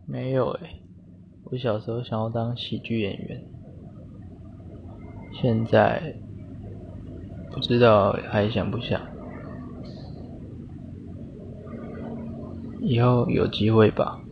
没有我小时候想要当喜剧演员，现在不知道还想不想，以后有机会吧。